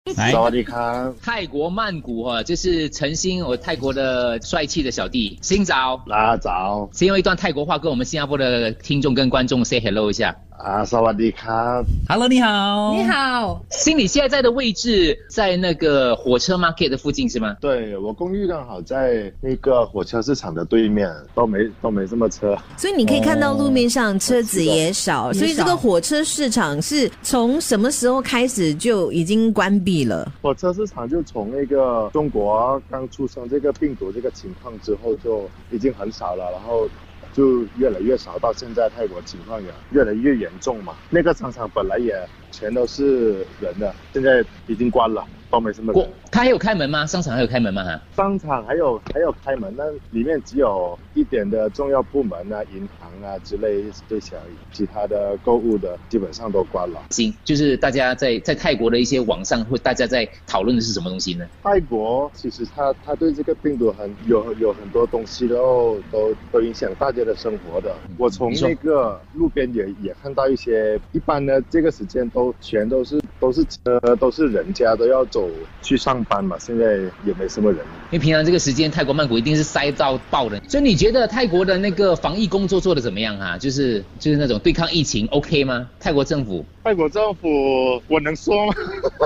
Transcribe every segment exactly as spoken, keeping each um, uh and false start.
来， 萨瓦迪卡， 泰国曼谷哈，这是陈星，我泰国的帅气的小弟，新早， 拉早， 先用一段泰国话跟我们新加坡的听众跟观众 say hello 一下。 啊，萨瓦迪卡 Hello， 你好， 你好， 星，你现在在的位置在那个火车 market 的附近是吗？ 对，我公寓刚好在那个火车市场的对面，都没都没什么车， 所以你可以看到路面上车子也少， 哦、 所以这个火车市场是从什么时候开始就已经关闭了？ 火车市场就从那个中国刚出生这个病毒这个情况之后就已经很少了，然后就越来越少，到现在泰国情况也越来越严重嘛。那个商场本来也全都是人的，现在已经关了，都没什么人。 他还有开门吗？商场还有开门吗？哈， 商场还有还有开门，但里面只有一点的重要部门啊、银行啊之类这些而已，其他的购物的基本上都关了。 行，就是大家在在泰国的一些网上或大家在讨论的是什么东西呢？ 泰国其实他他对这个病毒很有有很多东西都都都影响大家的生活的。我从那个路边也也看到一些，一般呢这个时间都全都是都是车都是人家都要走去上班嘛，现在也没什么人。 因为平常这个时间泰国曼谷一定是塞到爆的，所以你觉得泰国的那个防疫工作做得怎么样啊？就是就是那种对抗疫情 OK 吗？泰国政府？ 泰国政府我能说吗？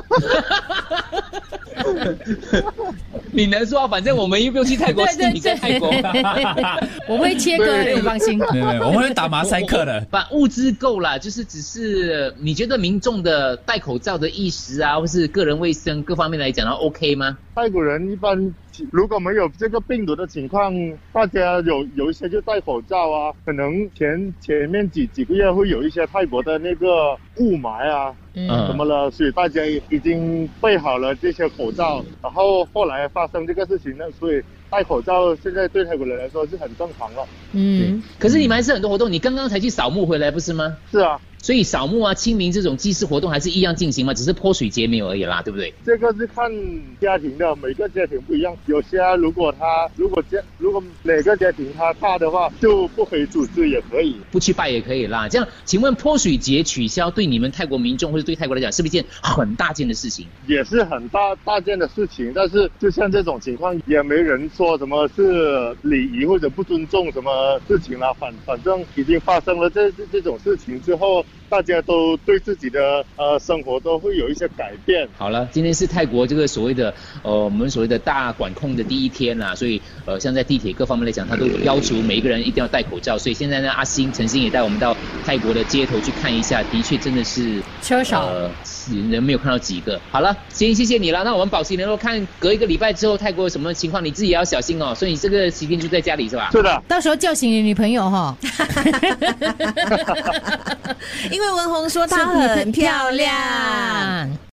你能说，反正我们又不用去泰国，是你在泰国。 我会切割，你放心。 对对，我们会打马赛克的。 把物资够了，就是只是你觉得民众的戴口罩的意识啊，或是个人卫生各方面来讲， OK 吗？ 泰国人一般如果没有这个病毒的情况，大家有有一些就戴口罩啊，可能前前面几几个月会有一些泰国的那个雾霾啊。嗯，怎么了？所以大家已经备好了这些口罩，然后后来发生这个事情呢，所以戴口罩现在对泰国人来说是很正常了。 嗯，可是你们还是很多活动，你刚刚才去扫墓回来不是吗？ 是啊。 所以扫墓啊、清明这种祭祀活动还是一样进行吗？只是泼水节没有而已啦，对不对？ 这个是看家庭的，每个家庭不一样。有些如果他如果家如果每个家庭他怕的话，就不可以组织也可以， 不去拜也可以啦。这样，请问泼水节取消对你们泰国民众或者对泰国来讲，是不是一件很大件的事情？ 也是很大大件的事情，但是就像这种情况，也没人说什么是礼仪或者不尊重什么事情啦。反反正已经发生了这这这种事情之后，大家都对自己的呃生活都会有一些改变。 好了，今天是泰国这个所谓的呃我们所谓的大管控的第一天啦，所以呃像在地铁各方面来讲，他都要求每一个人一定要戴口罩。所以现在呢，阿星、陈星也带我们到泰国的街头去看一下，的确真的是车少。 呃人没有看到几个。好了，先谢谢你了。那我们保持联络，看隔一个礼拜之后泰国有什么情况，你自己也要小心哦。所以你这个期间就在家里是吧？ 是的。 到时候叫醒你女朋友哈。 因为文红说她很漂亮。